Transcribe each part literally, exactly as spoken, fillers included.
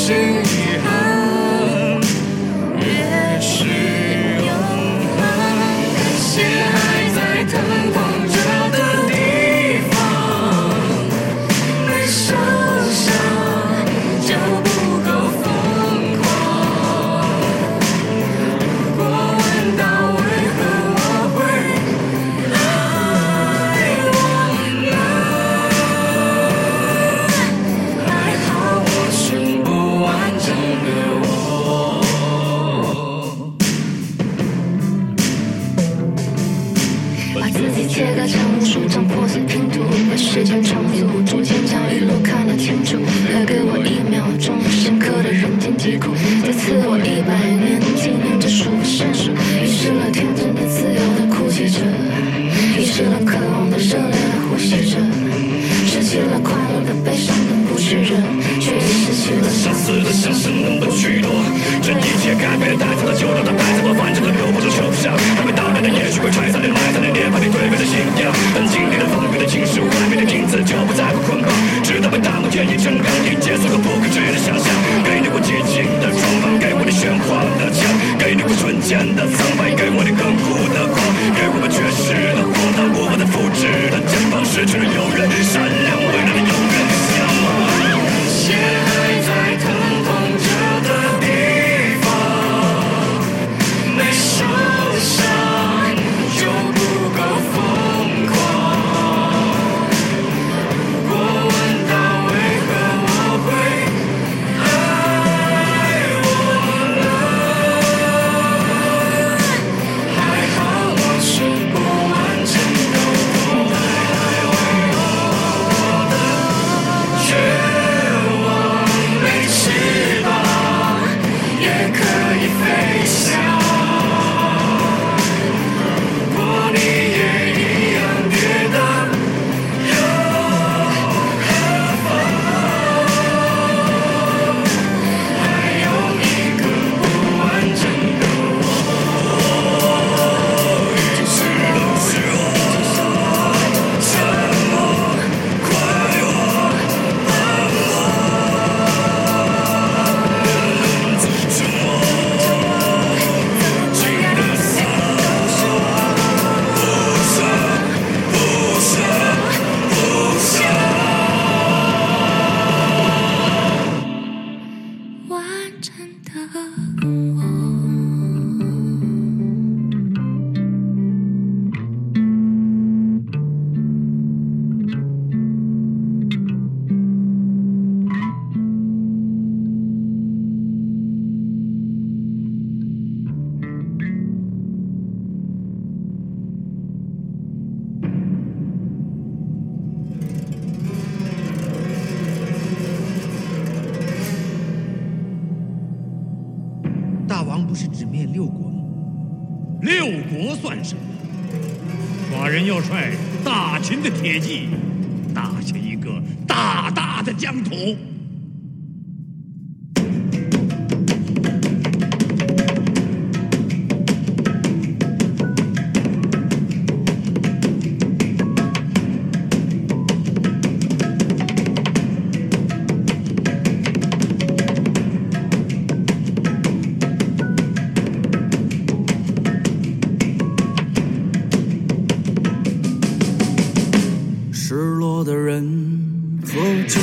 是遗憾，越是永恒。心还在疼痛着的地方，没受伤就不够疯狂。如果问到为何我会爱忘了，还好我是不完整的我。 把自己切割成无数张破碎拼图，把时间重组，逐渐将一路看得清楚。再给我一秒钟深刻的人间疾苦，再赐我一百年纪念这数不胜数。遗失了天真的自由的哭泣着，遗失了渴望的热烈的呼吸着，失去了快乐的悲伤的不去忍，却也失去了相似的相识能不许诺，这一切改变带走了旧的，带走了完整的留不住抽象，还没到来的也许会拆散的埋葬的涅槃里对面的信仰，但经历了风雨的侵蚀，外面的影子就不再会捆绑，直到被大幕建议成钢印，结束了不可知的想象。给你我激情的装扮，给我你玄幻的枪，给你我瞬间的苍白，给我你亘古的光，给我们绝世的荒唐，过往的复制的肩膀，失去了永远，善良未来的永远向往。血还在疼痛着的地方，没受伤就不够疯狂。如果问到为何我会爱忘了，还好我是不完整的我，绝望没翅膀也可以飞翔。如果你也一样跌倒，又何妨？还有一个不完整的我，只是冷血，沉默，快乐，冷漠，自沉默，记得散，不舍，不舍，不舍。完整的我。 大王不是只灭六国吗？六国算什么？寡人要率大秦的铁骑，打下一个大大的疆土。 失落的人喝酒，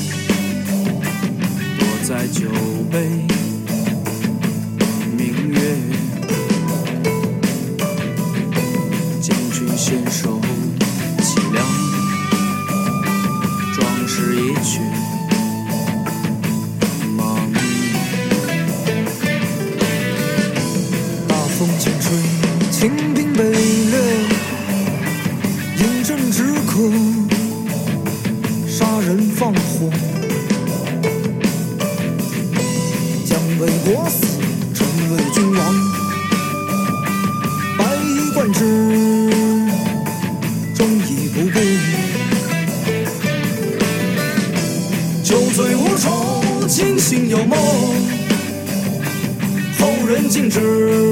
躲在酒杯，明月将军献首凄凉，壮士一去忙。大风轻吹，清兵北掠，饮鸩止渴，杀人放火，将为国死，臣为君王，百衣贯之，忠义不贵。酒醉无愁，清醒有梦，后人敬之，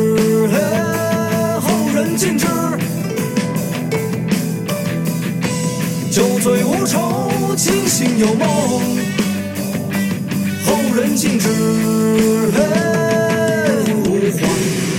后人敬之。酒醉无愁，清醒有梦，后人静止无话。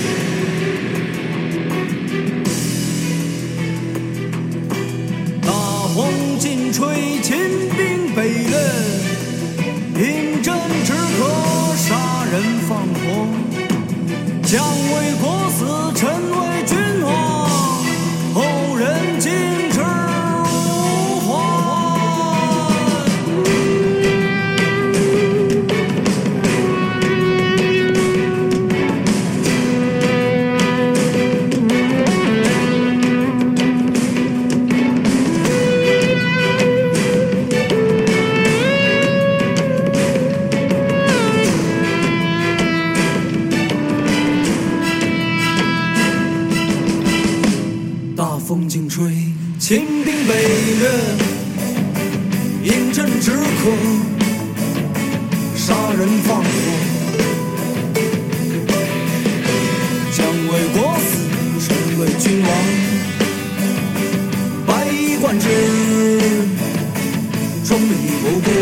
大风劲吹，秦兵北掠，饮鸩止渴，杀人放火。将为国死，臣为君王，后人尽止无还。风劲吹，秦兵北掠，饮鸩止渴，杀人放火。将为国死，臣为君王，百衣冠之，忠义无辜。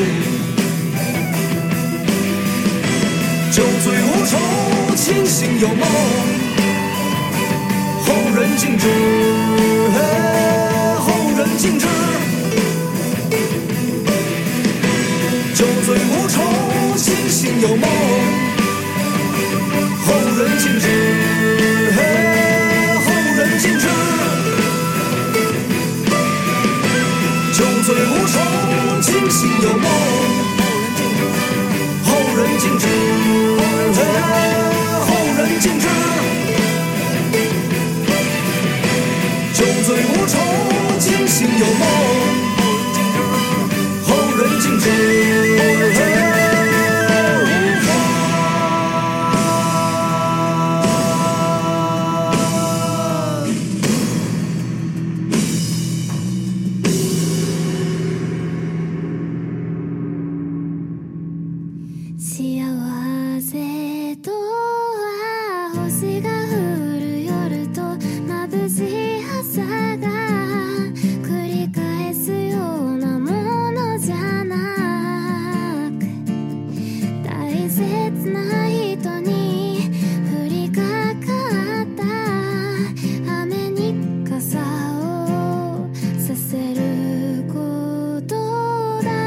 酒醉无愁，清醒有梦，后人尽止，后人尽止。酒醉无愁，清醒有梦，后人尽止，后人尽止。酒醉无愁，清醒有梦，后人尽止，后人尽止。酒醉无愁，清醒有梦，后人尽止无话。 幸せとは星が降る夜と眩しい朝が繰り返すようなものじゃなく、大切な人に降りかかった雨に傘をさせることだ。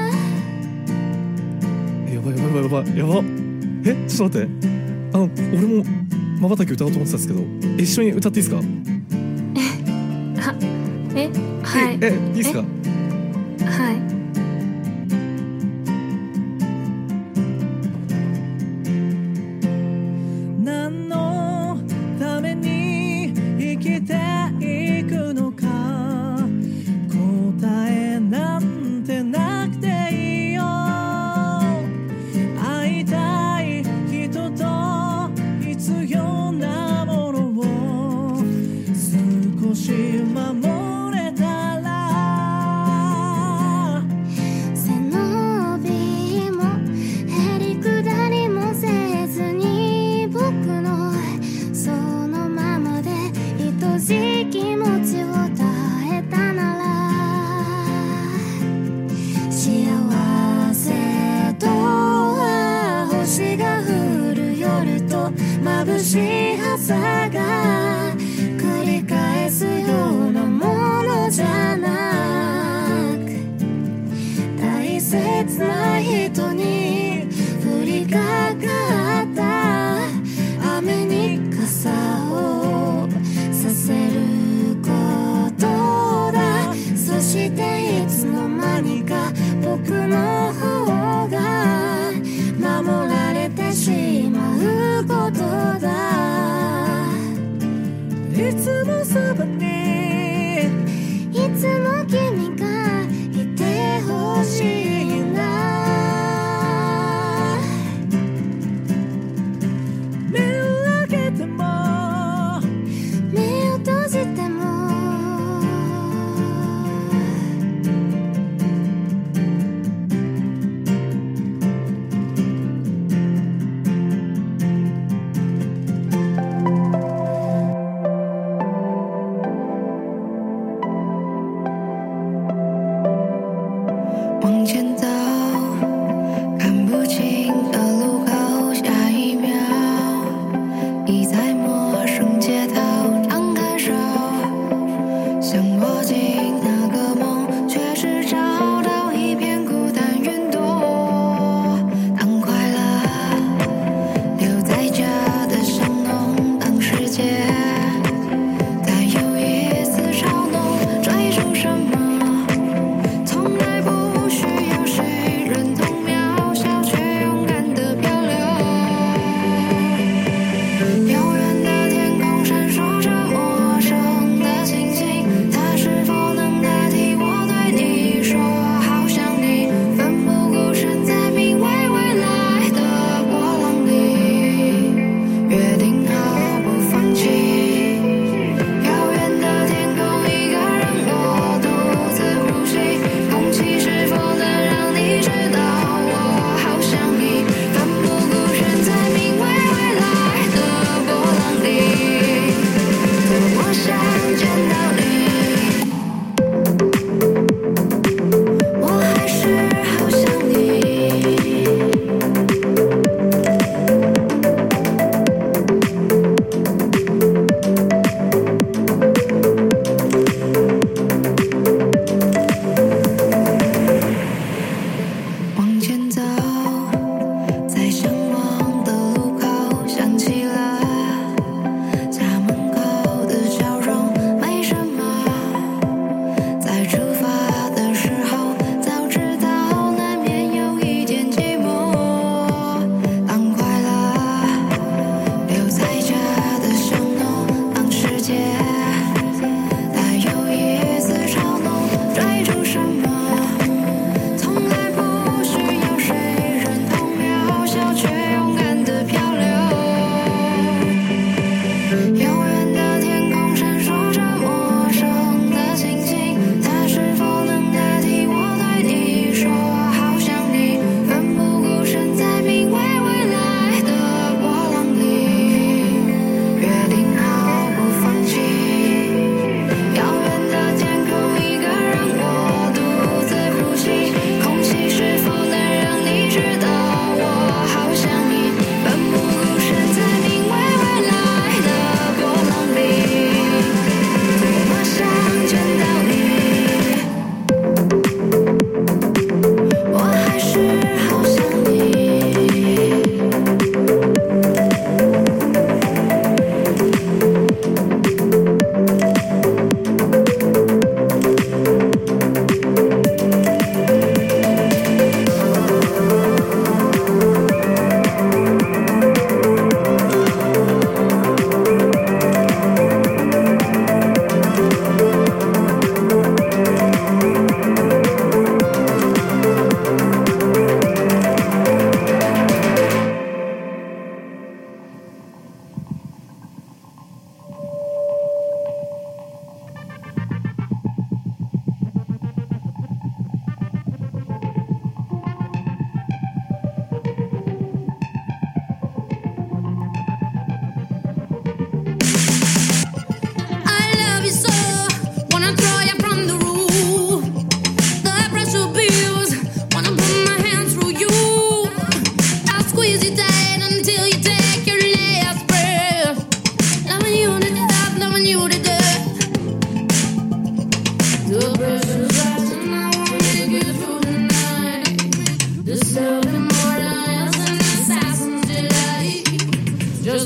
やばいやばいやばいやばい。え、ちょっと待って。あの、俺も瞬き歌おうと思ってたんですけど、一緒に歌っていいですか？ は、え、はい。 え、え、いいですか？ はい。 何のために生きていくのか、答えなんてなくていいよ。会いたい人と必要なものを少し守れたら、 背伸びもへりくだりもせずに僕のそのままで愛しい気持ちを伝えたなら、幸せとは星が降る夜と眩しい朝が繰り返すようなものじゃなく、大切な人に降りかかった雨に傘をさせることだ。そしていつの間にか僕の方が守られてしまうことだ。 いつもそばにいつも君がいてほしいんだ。 目を開けても目を閉じても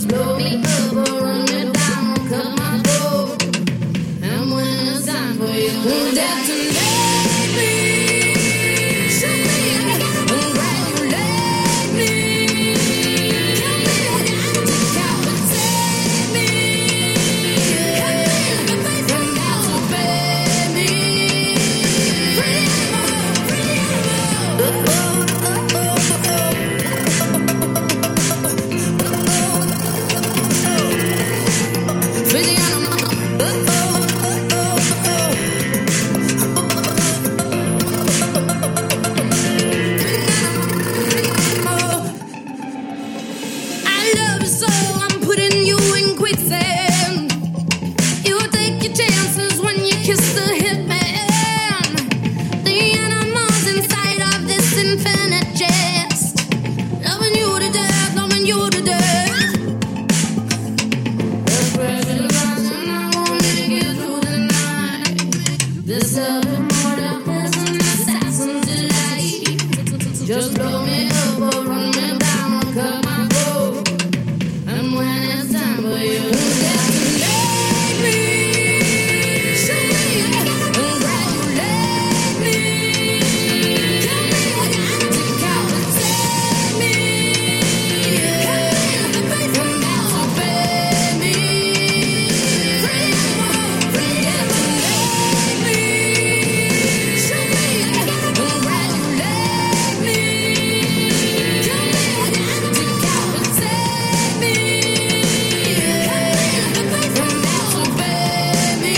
blow me up or run me down, cut my throat. And when it's time for you to detonate me, shoot me and congratulate me. Kill me, decapitate me. Hit me in the face and now obey me. Freedom, freedom. Just blow me up or run me down, cut my throat. And when it's time for you to detonate me, shoot me and congratulate me. Kill me, decapitate me. Hit me in the face and now obey me. Freedom, freedom, detonate me. Shoot me and congratulate me. Kill me, decapitate me. Hit me in the face and now obey me.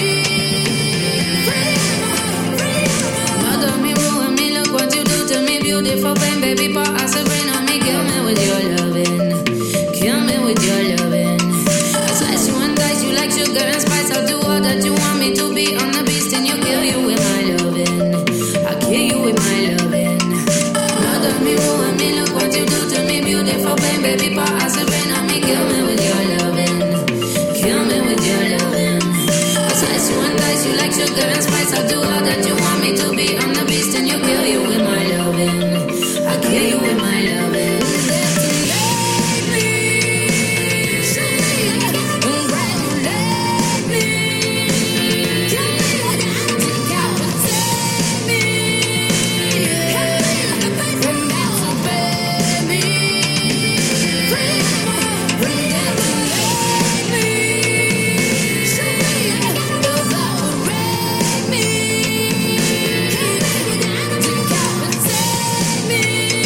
Freedom, freedom. Mother me, ruin me, look what you do to me, beautiful pain, baby, for us, Sabrina, me, kill me with your loving, kill me with your loving. I slice you and dice you like sugar and spice. I'll do all that you want me to be on the beast, and you kill you with my loving. I kill you with my loving. Mother me, ruin me, look what you do to me, beautiful pain, baby, for us, Sabrina, me, kill me with your loving, kill me with your loving. I slice you and dice you like sugar and spice. I'll do all that you want me to be on the beast, and you kill you with my loving. I kill you with my loving. Detonate me, shoot me and congratulate me. Kill me, decapitate me. Hit me in the face and now obey me. Freedom, freedom, detonate me. Shoot me and evaporate me. Kill me, decapitate me.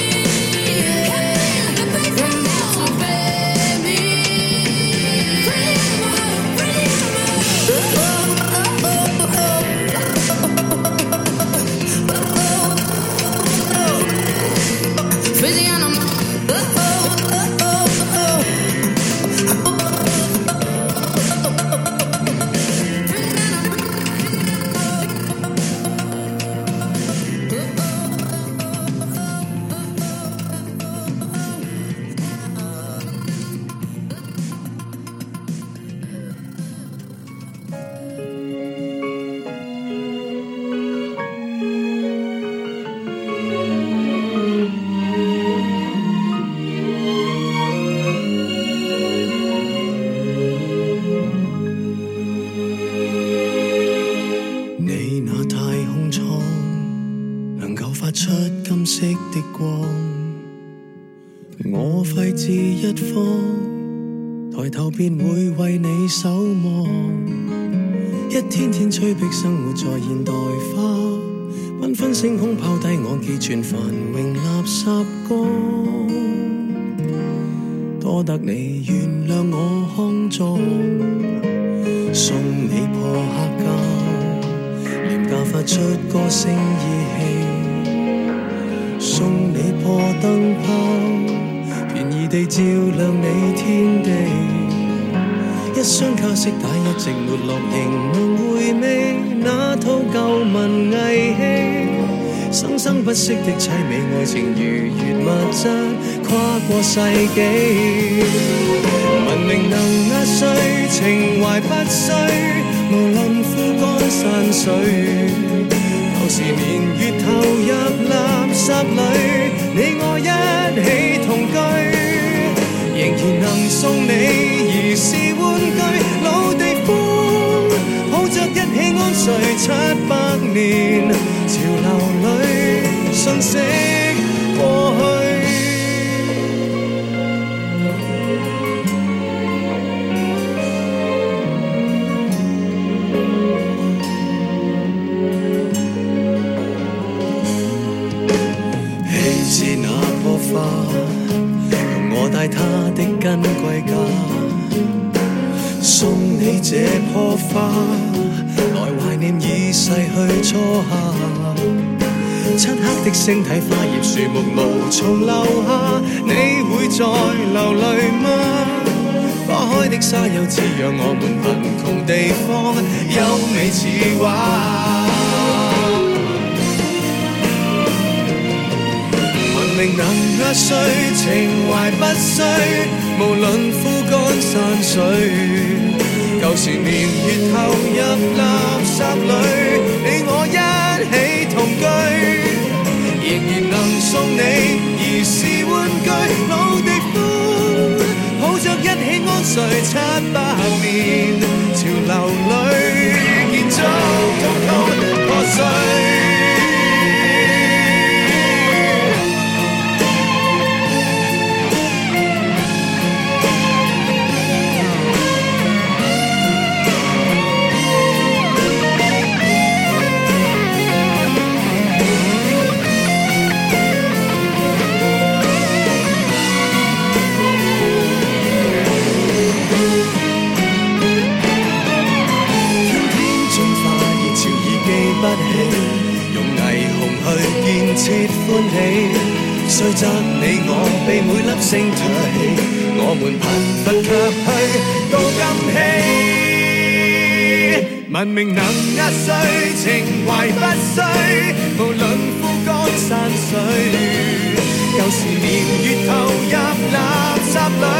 Hit me in the face and now obey me. Freedom, freedom. Freezing on them. 你那太空艙能夠發出金色的光，我廢置一方，抬頭便會為你守望。一天天催逼生活在現代化，繽紛星空拋低我寄存繁榮垃圾缸，多得你原諒我康莊，送你破黑膠。廉價發出歌聲意氣，送你破燈泡，便宜地照亮你天地。一箱卡式帶一直沒落，仍能回味那套舊文藝戲，生生不息的凄美愛情如月物質跨過世紀。文明能壓碎，情懷不衰，無論枯乾山水，舊時年月投入垃圾裏，你我一起同居，仍然能送你起安睡七百年，潮流里瞬息過去。棄置那棵花，容我帶它的根歸家，送你這棵花，來懷念已逝去初夏。漆黑的星體，花葉樹木無從留下，你會再流淚嗎？花開的沙丘滋養我們貧窮地方，優美似畫。文明能壓碎，情懷不衰，無論枯乾山水。舊時年月投入垃圾裏，你我一起同居，仍然能送你兒時玩具。老地方抱着一起安睡七百年，潮流裏建築統統破碎。用霓虹去建設歡喜，雖則你我被每粒星唾棄，我們貧乏卻去到今希。文明能壓碎，情懷不衰，無論枯乾山水。舊時年月投入垃圾裏，